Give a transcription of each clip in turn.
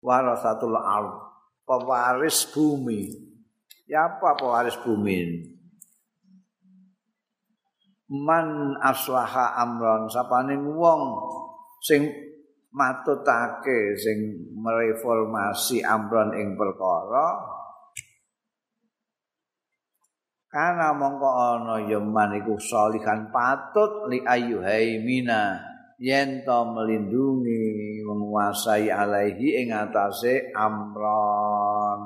warasatul ard, pewaris bumi. Ya apa pewaris bumi ini? Man aslaha amron, sapane wong sing matutake, sing mereformasi amron ing perkara, kana mongko ana ya man iku sholihan patut li ayyuhaimina yen to melindungi menguasai alaihi ing atase amron.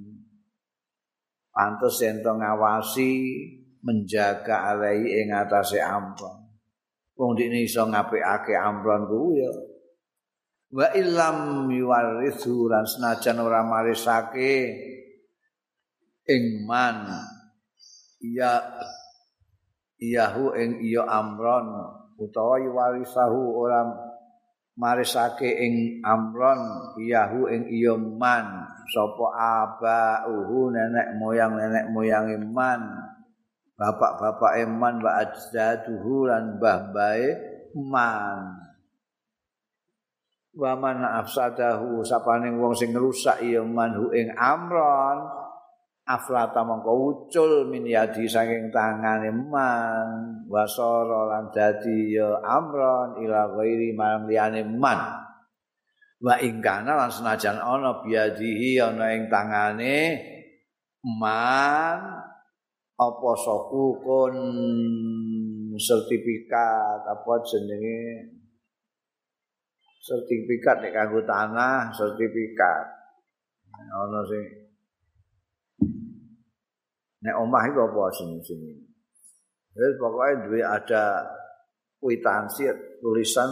Pantes yen to ngawasi menjaga alaihi ing atase amron. Wong dikne iso ngapikake amron kuwi ya. Wa illam yuwarithu lan senajan ora marisake ing man ya iyahu ing iya amron utawa yuwarisahu ora marisake ing amron iyahu ing iya man sapa abauhu nenek moyang man bapak-bapak man wa ajdaduhu lan mbah-mbahe man wa man afsadahu sapane wong sing ngrusak iya manhu ing amron aflata mongko ucul min yadi saking tangane man wasara lan dadi ya amron ila ghairi marang liyane man wa ingkana lan senajan ana biadihi ana ing tangane man apa sokukun sertifikat apa jenenge sertifikat nek kanggo tanah sertifikat ana sing nek omah iku apa sini. Wis pokoke duwe ada kwitansi tulisan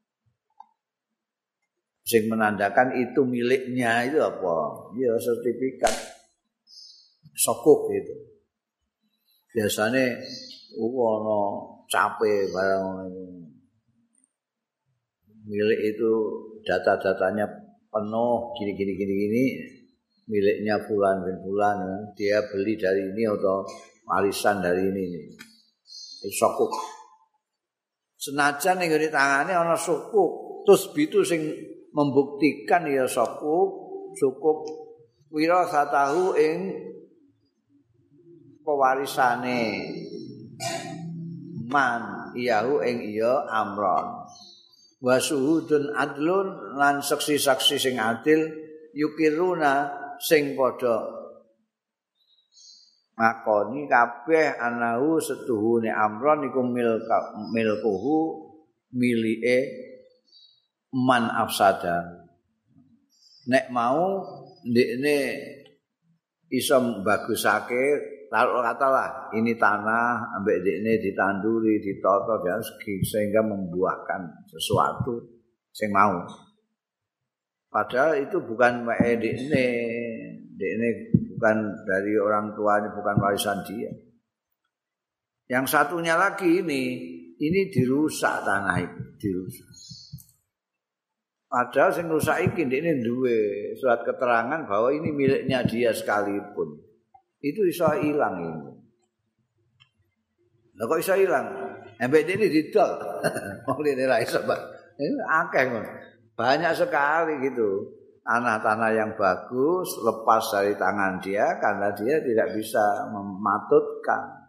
sing menandakan itu miliknya itu apa? Ya sertifikat sokuk gitu. Biasane ana cape barang milik itu data-datanya penuh gini miliknya fulan bin fulan dia beli dari ini atau warisan dari ini sokuk senajan ning ngene tangane ana sukuk terus bitu sing membuktikan ya sukuk wirasatahu ing pewarisane man iyahu ing iya amron wa suhudun adlun lan saksi-saksi sing adil yukiruna sing padha ngakoni kabeh anahu setuhune amron iku milkuhu milike man afsada nek mau ndekne iso bagusake taruh katalah ini tanah ambek ndekne ditanduri ditata dan sehingga membuahkan sesuatu sing mau. Padahal itu bukan dekne bukan dari orang tuanya, bukan warisan dia. Yang satunya lagi ini dirusak tanah itu, dirusak. Padahal sing rusak iki dekne duwe surat keterangan bahwa ini miliknya dia sekalipun. Itu iso ilang ini. Lah kok iso ilang? Ambek dekne didol. Wong dene ra iso, Pak. Ini akeh ngono. Banyak sekali gitu tanah-tanah yang bagus lepas dari tangan dia karena dia tidak bisa mematutkan.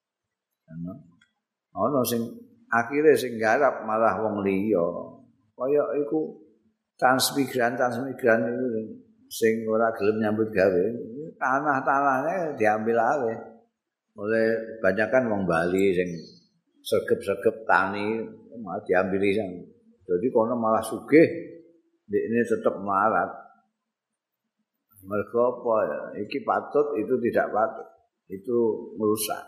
Ono sing akhire sing garap malah wong liya. Kaya iku transmigran itu sing ora gelem nyambut gawe. Tanah-tanahnya diambil alih oleh banyakan wong Bali sing sergep-sergep tani malah diambili sang. Jadi kono malah sugih, ini tetap melarat. Mergo apa ya? Iki patut, itu tidak patut. Itu merusak.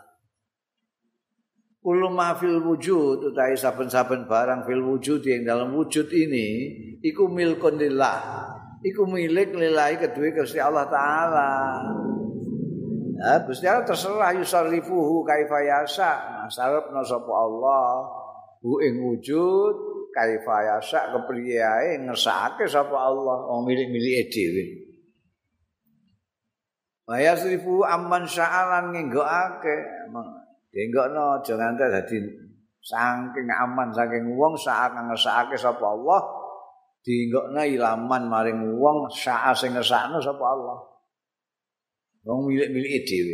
Kullu ma fil wujud, utawi saben-saben barang fil wujud yang dalam wujud ini, iku milkun lillah. Iku milik lillahi kedua Gusti Allah Ta'ala. Nah, Gusti Allah terserah yusarrifuhu kaifa yasha. Sarepna sapa Allah hu ing wujud kaifa yasha kepriye ae ngersake sapa Allah wong milik-milike dhewe. Wa yasrifu amman sya'alan ngenggokake. Denggokno aja nganti dadi saking aman saking wong sak ngersake sapa Allah dienggokna ilaman maring wong sa'a sing ngersakno sapa Allah. Wong milik-milike dhewe.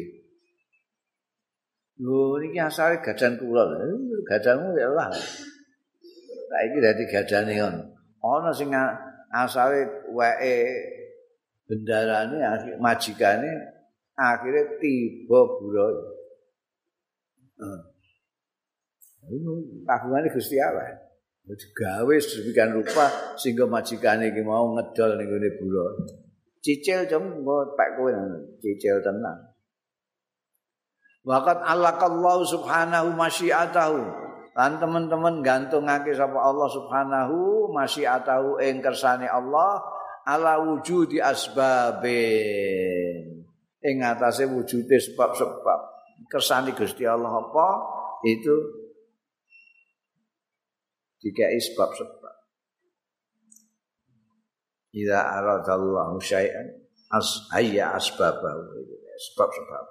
Lho niki asale gadan kula lho. Gadanmu ya Allah. Saiki dadi gadane ngono. Ana sing asale weke bendarane majikane akhire tiba buruh. Kagungane Gusti Allah. Digawe sedemikian rupa sehingga majikane iki mau ngedol ning gone buruh. Cicil jam engko pek kowe cicil tenan. Waqat allaqallahu subhanahu masyiatahu. Lan teman-teman gantungake sapa Allah subhanahu masyiatahu ing kersane Allah ala wujudi asbabin. Ing atase wujude sebab-sebab. Kersane Gusti Allah apa? Itu dikai sebab-sebab. Idza aradallahu syai'an hayya asbabahu. Sebab-sebab.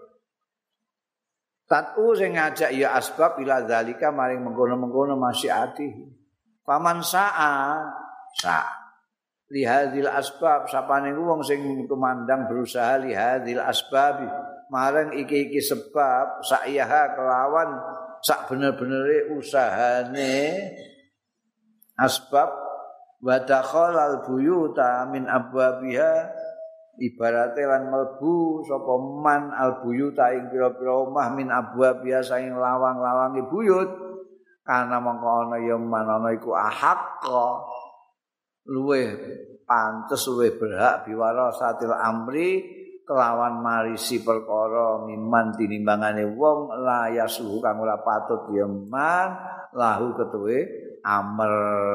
Tatu sing ngajak ya asbab ila zalika maring mengkono-mengkono masyiati. Paman sa'a lihadil asbab sapane wong sing tumandang berusaha lihadil asbabi marang iki-iki sebab sayaha kelawan sak bener-benere usahane asbab wa dakhalal buyuta min abwabiha ibarate lan mlebu sapa man al buyuta ing pira-pira omah min abwabiha saing lawang-lawange buyut kana mongko ana ya man ana iku ahaqqa luweh pantes luweh berhak biwarasatil amri kelawan marisi perkara miman tinimbangane wong la yasuhu kang ora patut ya man lahu ketuwe amr.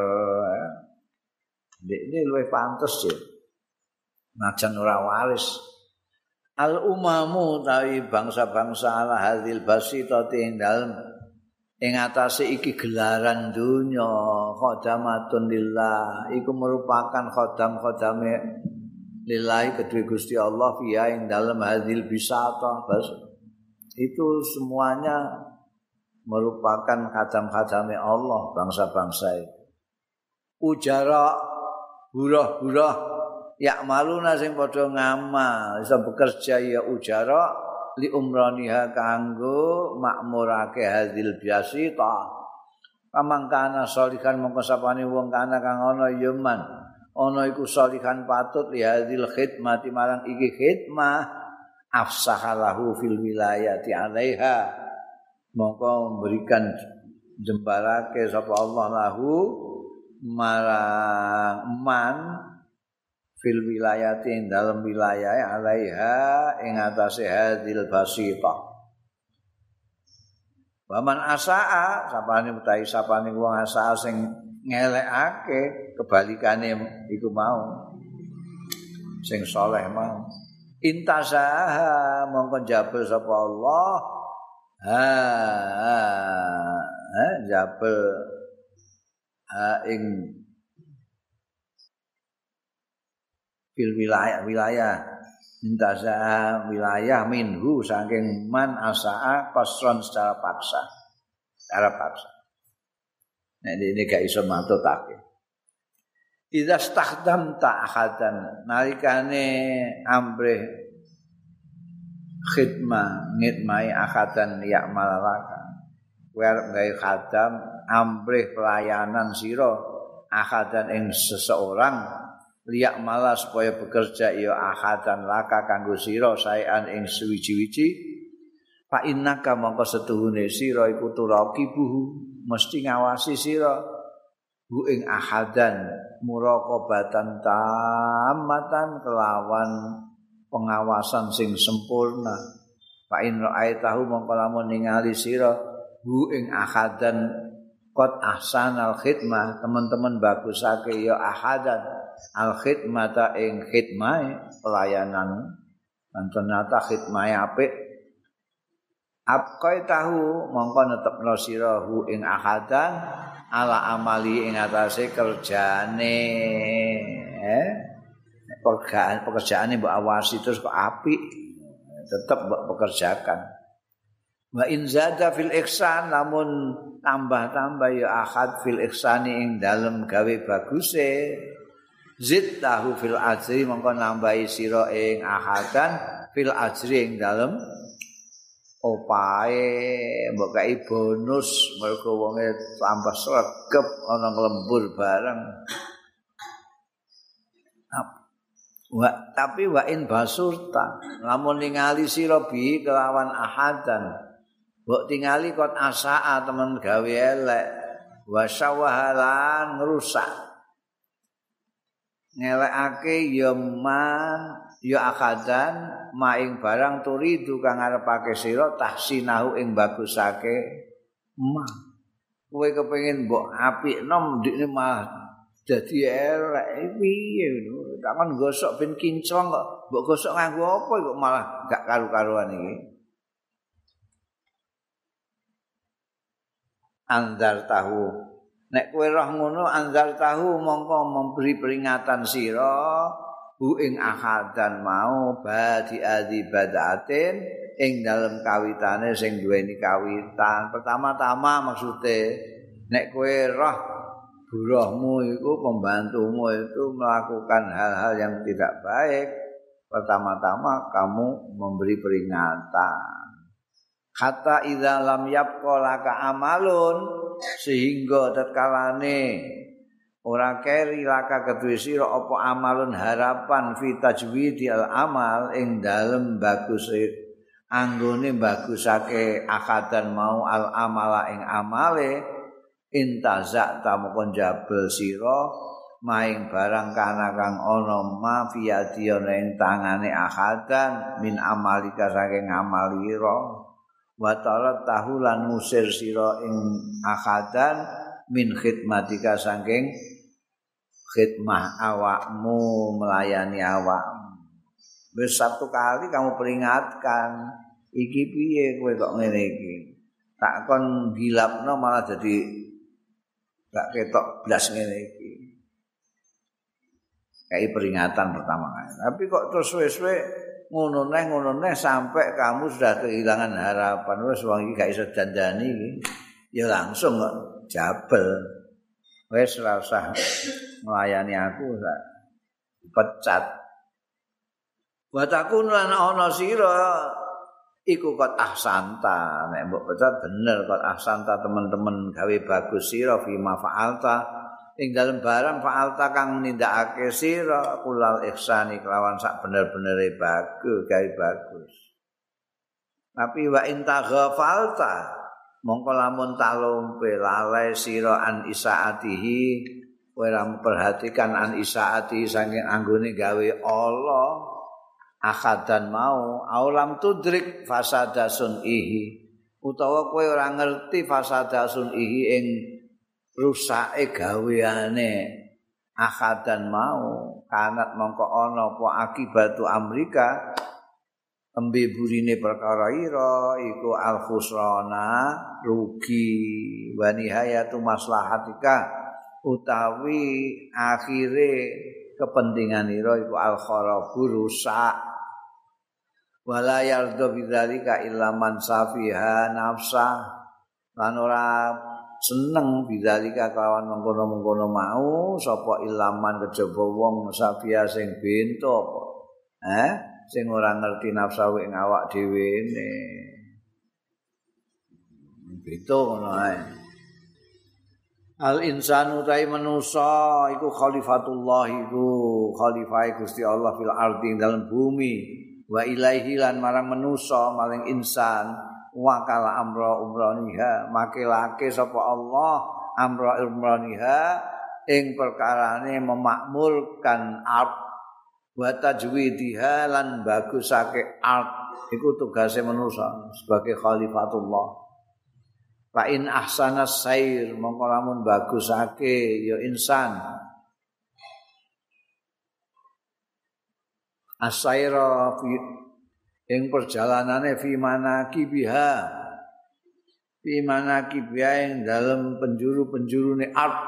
Ini luwih pantes ya. Najan ora waris. Al umamu tawi bangsa-bangsa ala hadil basitati ing dalem ing atase iki gelaran dunya khadamatun lillah iku merupakan khodam-khodame lillahi kedue Gusti Allah fiha ing dalem hadil bisata itu semuanya merupakan khadam-khadame Allah bangsa-bangsa itu. Ujara burah-burah ya maluna sing padha ngamal iso bekerja ya ujara li umraniha kanggo makmurake hadil biasita pamangkana sholihan mongko sapane wong kana kang ana yeman ana iku sholihan patut li hadil khidmati marang iki khidmah afsahalahu fil wilayati alaiha mongko memberikan jembarake sapa Allah lahu marang man fil wilayati ing dalam wilayah alaiha ing atase hadil basita. Waman asaa sapane utahi sapane wong asaa sing ngelekake kebalikane iku mau sing saleh mau intasaha mongko jabel sapa Allah jabel ing fil wilayah intaza wilayah minhu saking man asaa qasron secara paksa nek ini gak iso matutake idza stahdamta ahadan nalikane ambrih khidmah ngitmai ahadan ya malalaka kowe arep gawe khadam ambrih pelayanan sira ahadan ing seseorang liak malah supaya bekerja ya ahadan laka kanggo sira saean ing suwiji-wiji fa innaka mongko setuhune sira iku turaqibuhu mesti ngawasi sira hu ing ahadan muraqabatan tamatan kelawan pengawasan sing sempurna fa in ra'aitahu mongko lamun ningali sira hu ing ahadan qad ahsanal khidmah teman-teman bagusake ya ahadan al khidmata ing khidmah pelayanan lan ternyata khidmah apik apkai tahu mongko netepno sira hu ing ahadan ala amali ing atase kerjane pekerjaane mbok awasi terus kok apik tetep mbok pekerjakan wa in zada fil ihsan lamun tambah-tambah ya ahad fil ihsani ing dalem gawe baguse zid tahu fil ajri mongko nambahi sira ing ahadan fil ajri ing dalem opahe mbok kai bonus mergo wonge tambah sregep ana lembur bareng. Tapi wa in basurta lamun ningali sira bi kelawan ahadan mbok tingali kot asaa temen gawe elek wa sawahalan ngrusak ngelekake ya man ya akadan maing barang turidu kang arepake sira tahsinahu ing bagusake ma kowe kepengin mbok apikno ndikne mah dadi elek piye ngono tak kon gosok ben kinclong kok mbok gosok nganggo apa kok malah gak karu-karuan iki anzar tahu nek kowe roh ngono anzar tahu mongko memberi peringatan sira hu ing ahadan mau badi adibadatin ing dalem kawitane sing duweni kawitan pertama-tama maksude nek kowe roh buruhmu itu pembantumu itu melakukan hal-hal yang tidak baik pertama-tama kamu memberi peringatan hatta idza lam yabqa laka amalun sehingga tatkalane ora keri laka kedue sira apa amalun harapan fi tajwidil amal ing dalem bagus anggone bagusake akadan mau al amala ing amale intazak tamukon jabel sira maing barang kana kang ana mafiyadiyana ing tangane akadan min amalika saking amalira wa tarat tahulan musir sira ing akadan min khidmatika saking khidmah awakmu melayani awakmu wis satu kali kamu peringatkan iki piye kowe kok ngene iki tak kon gilapno malah jadi gak ketok blas ngene iki kayak peringatan pertama kali tapi kok terus suwe-suwe ngono neh sampai kamu sudah kehilangan harapan wis wong iki gak iso dandani iki ya langsung kok jabel wis ora usah melayani aku sak pecat Watakun lan ana sira iku kot ahsanta nek mbok pecat bener kot ahsanta teman-teman gawe bagus sira fi ma fa'alta ing dalem barang fa'alta kang nindakake sira kulal ihsani kelawan sak bener-benere bagus gawe bagus tapi wa in taghafalta mongko lamun talumpe lalai sira an isaatihi ora memperhatikan an isaatihi saking anggone gawe Allah akadan mau aulam tudrik fasada sunihi utawa kowe ora ngerti fasada sunihi ing rusake gaweane akadan mau kanat mongko ana apa akibatu amrika tembe burine perkara ira iku al khusrana rugi wa nihayatu maslahatika utawi akhire kepentingan ira iku al kharabu rusak wala yarda bidzalika illa man safiha nafsa lan ora seneng bidzalika kelawan mengkono-mengkono mau sapa ilaman kejaba wong safiha sing bento sing ora ngerti nafsu ing awak dhewe ne bento ngono ae al insanu tai manusa iku khalifatullah iku khalifah Gusti Allah fil ardi dalam bumi wa ilaihi lan marang manusa maring insan wakala amra umraniha makilake sapa Allah amra umraniha ing perkarane memakmurkan art wa tajwidiha lan bagusake art iku tugase manusa sebagai khalifatullah fa in ahsanas sair mongko lamun bagusake ya insan asaira ing perjalanane fi manakibiha ing dalem penjuru-penjurune art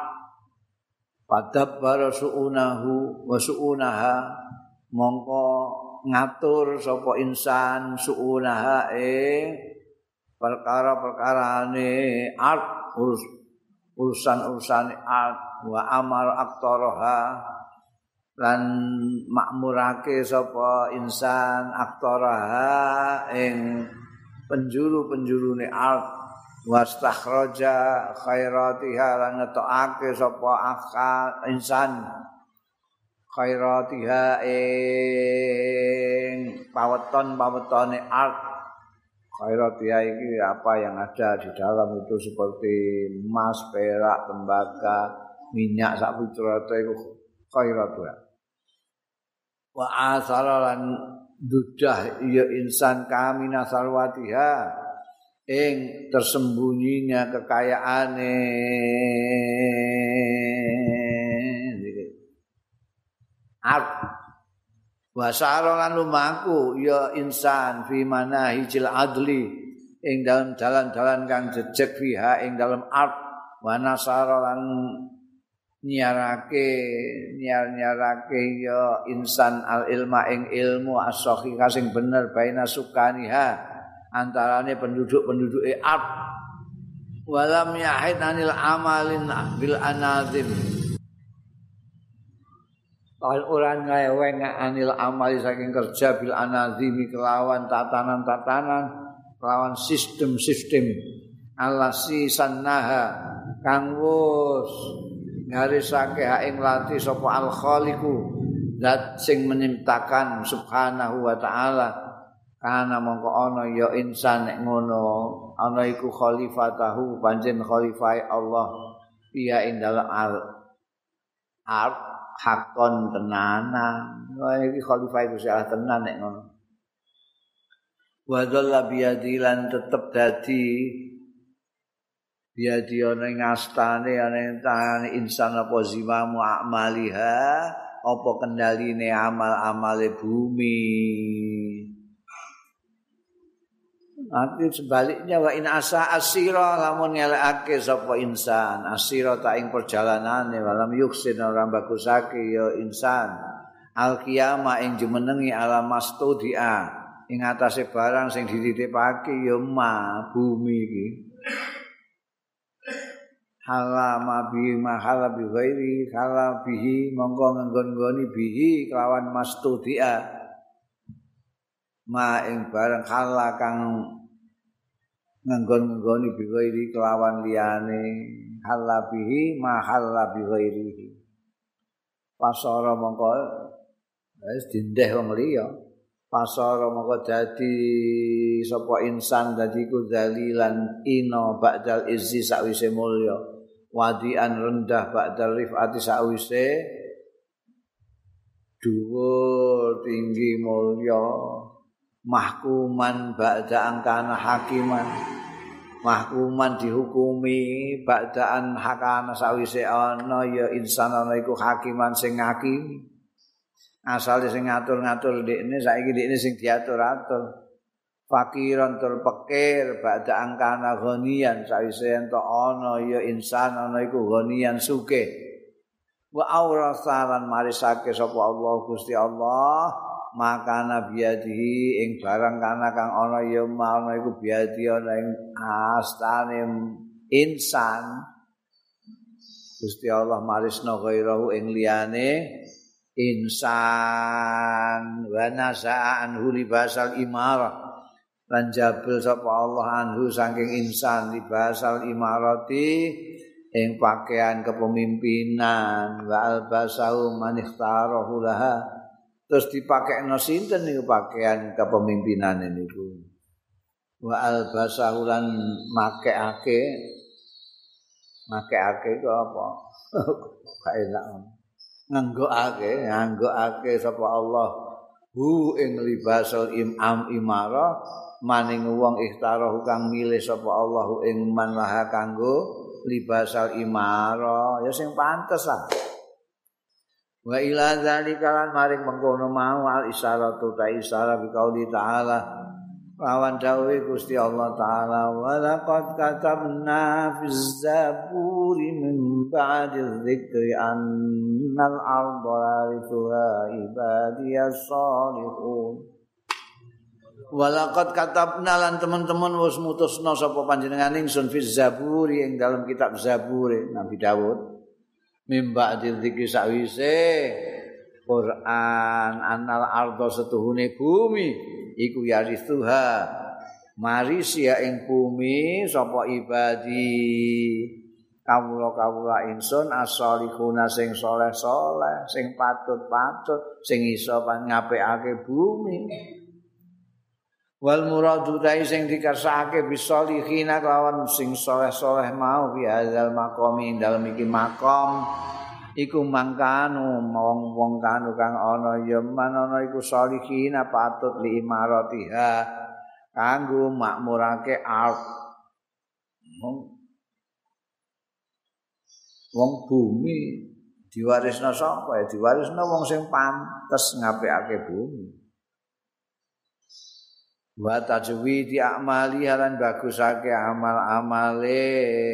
padab suunahu wa suunaha mongko ngatur sapa insan suunaha ing perkara-perkarane art urusan-urusane art wa amar aktaraha lan makmurake sapa insan aktaraha ing penjuru-penjurune ard wastakhraja khairatiha lan ngetokake sapa insan khairatiha ing paweton-pawetone ard. Khairatiha iki apa yang ada di dalam itu seperti emas, perak, tembaga, minyak sak piturute iku khairatiha. Wa asara lan dudah ya insan kamina sarwatiha ing tersembunyinya kekayaane art wasara lan lumaku ya insan fi manahijil adli ing dalam dalan-dalan kang jejeg fiha ing dalam art wa nasara lan nyarake ya insan al ilma ing ilmu as-sahihah sing bener baina sukaniha antarane penduduk-penduduke ard walam yahid anil amalin bil anazim orang ngeweng anil amali saking kerja bil anazimi kelawan tatanan-tatanan kelawan sistem-sistem alasi sannaha kang wus ngarisake hak ing lati sapa al khaliqu zat sing menciptakan subhanahu wa taala kana mongko ana ya insan nek ngono ana iku khalifatahu panjen khalifah Allah iya ing dalem al hakon tenanan iki khalifah Gusti Allah tenan nek ngono wa dzalla biyadilan tetep dadi biadi ana ing astane ana ing tangane insan apa zimamu amaliha apa kendaline amal-amale bumi. Nanti sebaliknya wa in asa asira lamun ngelekake sapa insan asira ta ing perjalanane walam yuksin ora bagusake ya insan al qiyamah ing jumenengi alam mastudia ing atase barang sing dititipake ya bumi iki. Halama bihi mahala bi ghairi hala bihi mongko nggon-nggoni bihi kelawan mastudia ma ing barang hala kang nggon-nggoni bi ghairi kelawan liyane hala bihi mahala bi ghairi pasara mongko wis dindeh wong liya pasara mongko dadi sapa insan dadi ku zalilan ino ba'dal izzi sakwise mulya wadian rendah ba'dal rifati sakwise dhuwur tinggi mulya mahkuman ba'da angkana hakiman mahkuman dihukumi ba'daan hakana sakwise ana ya insan ana iku hakiman sing ngakimi asale sing ngatur-ngatur ndekne saiki ndekne sing diatur-atur fakiran tur pikir ba'da angkana ghaniyan sawise ento ana ya insan ana iku ghaniyan sugih wa aurasalan marisake sapa Allah Gusti Allah maka nabiyadihi ing barang kana kang ana ya ana iku biadi ana ing astane insan Gusti Allah marisna ghairahu ing liyane insan wa nasa'an libasal imarah lan jabel sapa Allah anhu saking insan libasal imarati ing pakaian kepemimpinan wa albasahu man ikhtarahu laha terus dipakekno sinten niku pakaian kepemimpinan niku wa albasahu lan makekake itu apa gak enak nganggokake sapa Allah hu ing libasul imara maning wong ikhtarahu kang milih sapa Allah ing man laha kanggo libasal imara ya sing pantes ah wa ila zalika lan maring mengkono mau al isyaratu ta isyara bi qauli ta'ala lawan dawuhe Gusti Allah taala wa laqad katabna fiz zaburi min ba'di dzikri annal arda warithuha ibadiyas salihun wa laqad katabna lan teman-teman wis mutusna sapa panjenengan ingsun fiz zaburi ing dalam kitab Zabur Nabi Daud min ba'di dzikri sawise Quran annal ardo setuhune bumi iku yarisuha marisi ing bumi sapa ibadi kawula ingsun as-sholihuna sing saleh-saleh sing patut-patut sing iso ngapikake bumi wal muradu dai sing dikersakake bisolihina kelawan sing saleh-saleh mau bi hadzal maqami dalem iki makom iku mangkanu wong-wong kanu kang ana ya manana iku salihina patut li imaratiha kanggo makmurake art wong bumi diwarisna sapa ya diwarisna wong sing pantes ngapikake bumi wa tajwidi amali lan bagusake amal-amale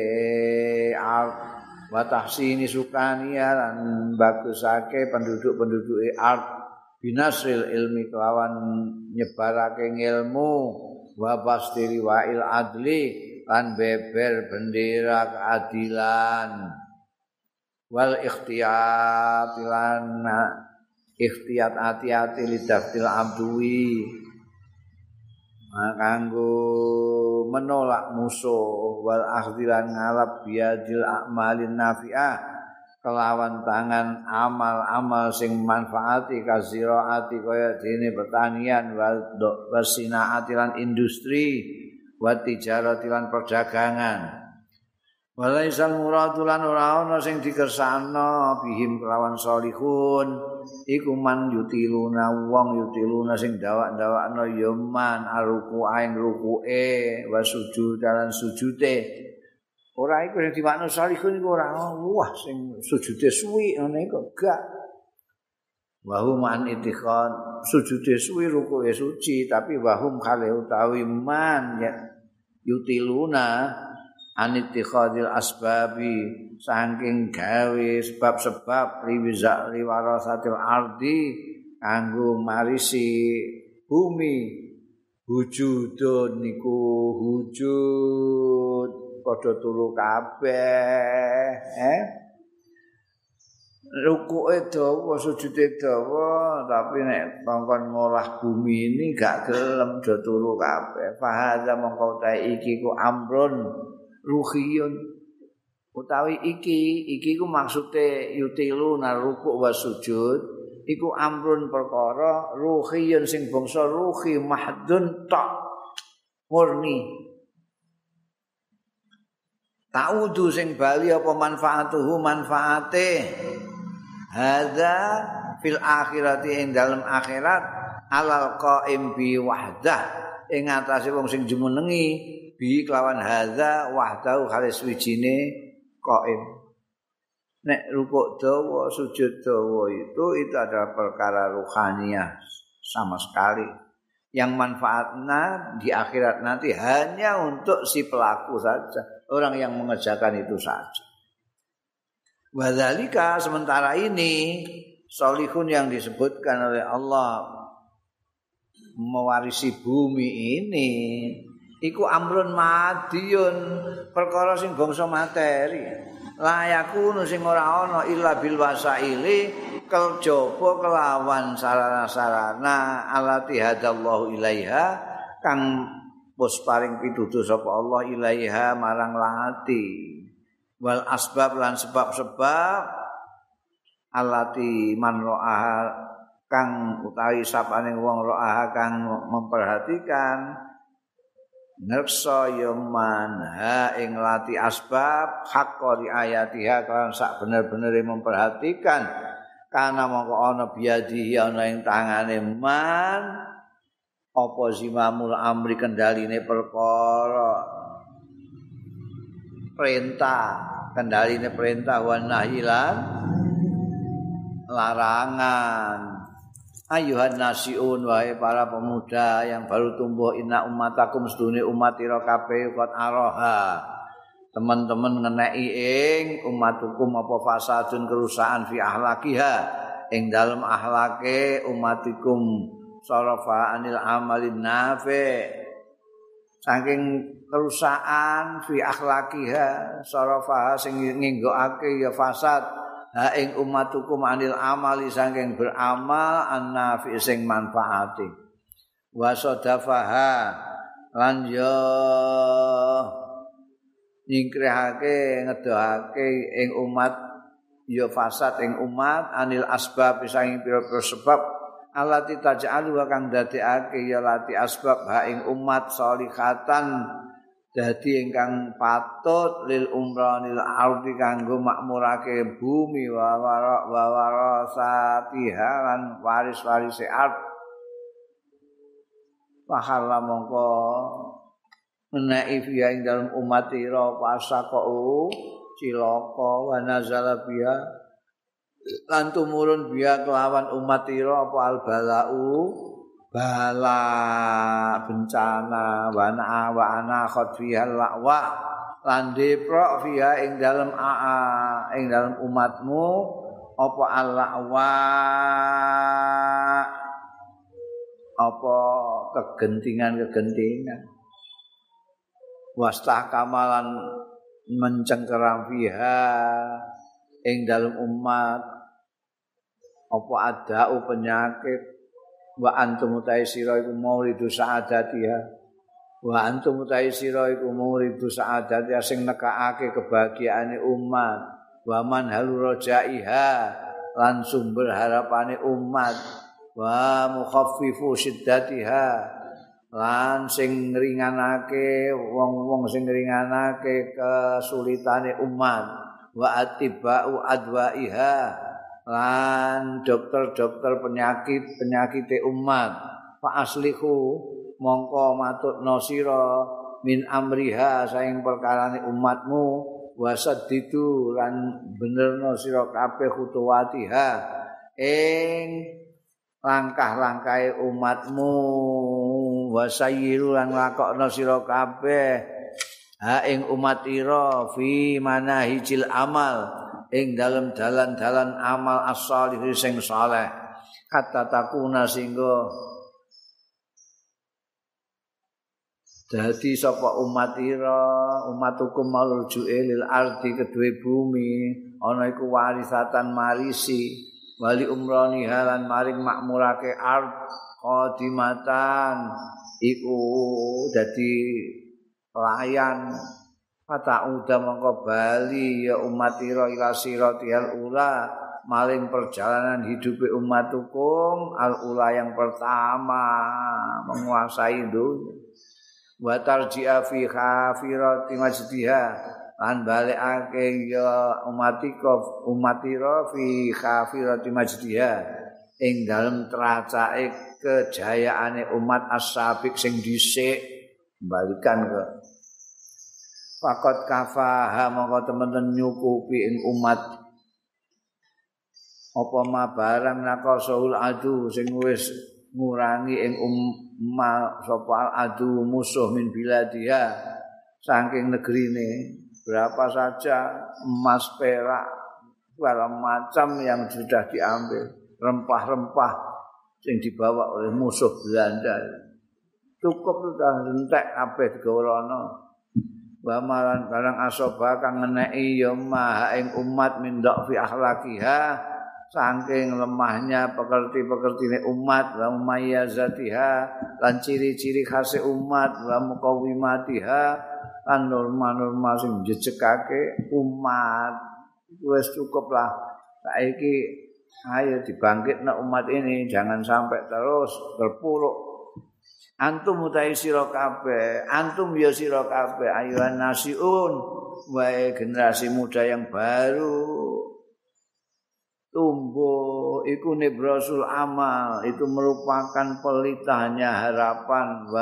art wa tahsini sukaniya lan bagusake penduduk-penduduke art binasril ilmi kelawan nyebarake ilmu wa bastiri wa'il adli lan beber bendera keadilan wal ikhtiyat lan ikhtiyat hati-hati lidaftil abdui kanggo menolak musuh wal akhdilan ngalap biadil a'malin nafi'ah kelawan tangan amal-amal sing manfaati kaziraati kaya dene pertanian wal sinaati lan industri wa tijarati lan perdagangan walaisal muradulan ora ana sing dikersakno bihim kelawan salihun iku man yutiluna wong yutiluna sing dawak-dawakno ya man aruku aing rukuke wa sujud lan sujude ora iku sing diwakno salihun iku ora wah sing sujude suwi ngene kok gak wahum an itikhon sujude suwi rukuke suci tapi wahum kale utawi man ya yutiluna anittikhadil asbabi saking gawe sebab-sebab liwarasatil ardi kanggo marisi bumi wujudun niku wujud padha turu kabeh rukuke dawa sujude dawa tapi nek kongkon ngolah bumi ini gak gelem do turu kabeh fahaza mongko ta iki ku amrun ruhiyun utawi iki ku maksude yutilu naruku wa sujud iku amrun perkara ruhiyun sing bangsa ruhi mahdun tok murni ta'udu sing bali apa manfaatuhu manfaate hadza fil akhirati ing dalem akhirat alal qaim bi wahdah ing atase wong sing jumenengi bi kelawan hadza wahdahu halis wijine qaim nek rukuk dawa sujud dawa itu adalah perkara ruhaniyah sama sekali yang manfaatnya di akhirat nanti hanya untuk si pelaku saja orang yang mengerjakan itu saja wadzalika sementara ini solihun yang disebutkan oleh Allah mewarisi bumi ini iku amrun madiyun perkara sing bangsa materi layakunu sing ora ana illa bil wasaili kejaba kelawan sarana-sarana alati hadallahu ilaiha kang wis paring pituduh sapa Allah ilaiha marang lati wal asbab lan sebab-sebab alati man ro'aha kang utawi sapane wong ro'aha kang memperhatikan ngersa yaman ha ing lati asbab hakka di ayatiha kan sak bener-benere memperhatikan kana mongko ana biadi ana ing tangane man apa zimamul amri kendaline perkara perintah kendaline perintah wan nahilan larangan ayuhan nasiun wahai para pemuda yang baru tumbuh inna ummatakum sedune umat ira kabeh qad araha teman-teman ngeneki ing umatukum apa fasadun kerusakan fi ahlakiha ing dalem ahlake umatikum sarafa anil amalin nafi saking kerusakan fi akhlakiha sarafa sing nginggokake ya fasad ha ing ummatukum anil amali saking beramal annafi sing manfaati wa sadafaha lan yo nyingkrihake ngedohake ing umat ya fasad ing umat anil asbab saking pira-pira sebab alati taj'alu kang dadekake ya lati asbab ha ing umat sholihatan dadi ingkang patut lil umranil ardi kanggo makmurake bumi wa warasatiha lan waris-warise ard pahala mongko menaik fiha ing dalam umat ira pasaqau cilaka wa nazala biha lan tumurun biha kelawan umat ira apa albalau bala bencana wa ana khadfihal la'wa lan deprok fiha ing dalam ing dalam umatmu apa al-la'wa apa kegentingan wastah kamalan mencengkeram fiha ing dalam umat apa adau penyakit wa antum taisira iku mauridu sa'adatiha wa antum taisira iku mauridu sa'adatiha sing nekakake kebahagiaane umat wa man halurajaiha lan sumber harapane umat wa mukhaffifu syiddatiha lan sing ngringanake wong-wong sing ngringanake kesulitane umat wa atibau adwaiha lan dokter-dokter penyakite umat fa aslihu mongko matutno sira min amriha saing perkarane umatmu wasaddidu lan benerno sira kabeh khutuwatiha ing langkah-langkahe umatmu wasayyiru lan lakokno sira kabeh ha ing umat ira fi manahijil amal ing dalem dalan-dalan amal as-shalih sing saleh kata takuna singgo dadi sapa umat ira umatukum malju'e lil ardi kedue bumi ana iku warisatan marisi wali umrani halan maring makmurake ard qadimatan iku dadi pelayan kata uda mongko bali ya umat ira ila siratihal ula maring perjalanan hidup umatukum al ula yang pertama menguasai dunia wa tarji'a fi khafirati majdiha lan balikake ya umat ira fi khafirati majdiha ing dalem tracake kejayaane umat as-sabiq sing dhisik balikan ke fakot kafaha mongko temen nyukupi ing umat apa ma barang naqasul adu sing wis ngurangi ing sapa adu musuh min biladiha saking negrine berapa saja emas perak segala macam yang sudah diambil rempah-rempah yang dibawa oleh musuh Belanda cukup sudah entek kabeh digawrono wa malan barang asoba kang ngeneki ya maha ing umat min fi akhlaqiha saking lemahnya pekerti-pekertine umat wa mumayyazatiha lan ciri-ciri khase umat wa muqawimatiha lan norma-norma sing jejegake umat wis cukup lah saiki ayo dibangkitna umat ini jangan sampai terus terpuruk antum utai sira kabeh antum ya sira kabeh ayuhan nasiun wae generasi muda yang baru tumbuh iku nibrasul amal itu merupakan pelitahnya harapan wa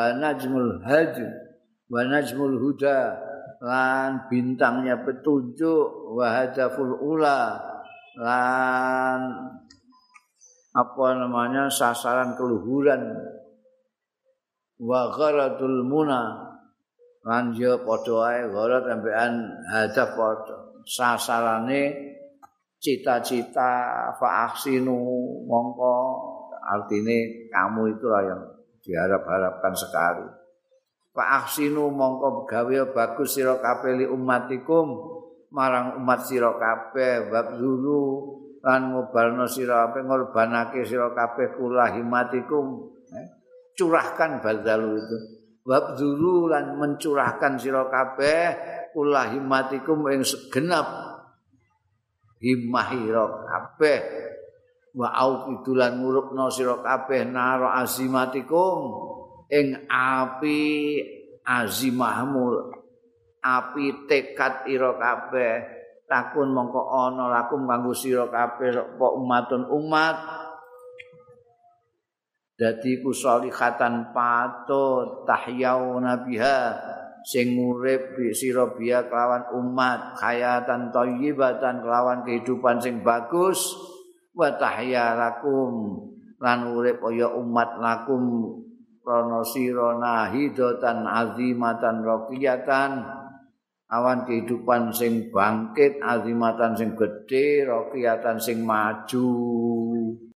najmul huda lan bintangnya petunjuk wa hadaful ula lan sasaran keluhuran wa gharadul muna lan yo padha ae gharad sampean hadaf padha sasarane cita-cita fa ahsinu mongko artine kamu itulah yang diharap-harapkan sekali fa ahsinu mongko gawe bagus sira kabeh li ummatikum marang umat sira kabeh wabzulu lan ngobalno sira kabeh ngorbanake sira kabeh kulahimatikum curahkan badzalu itu wabzulu lan mencurahkan sira kabeh kulahimatikum ing segenap himmah sira kabeh wa auqidulan ngurupno sira kabeh naro azimatikum ing api azimahmu api tekad ira kabeh takun mongko ana lakum kanggo sira kabeh apa umatun umat dadi ku salihatan patut tahyauna biha sing urip sira biya kelawan umat hayatan thayyibatan kelawan kehidupan sing bagus wa tahya lakum lan urip kaya umat lakum rono sira nahidatan azimatan raqiyatan awan kehidupan sing bangkit azimatan sing gedhe raqiyatan sing maju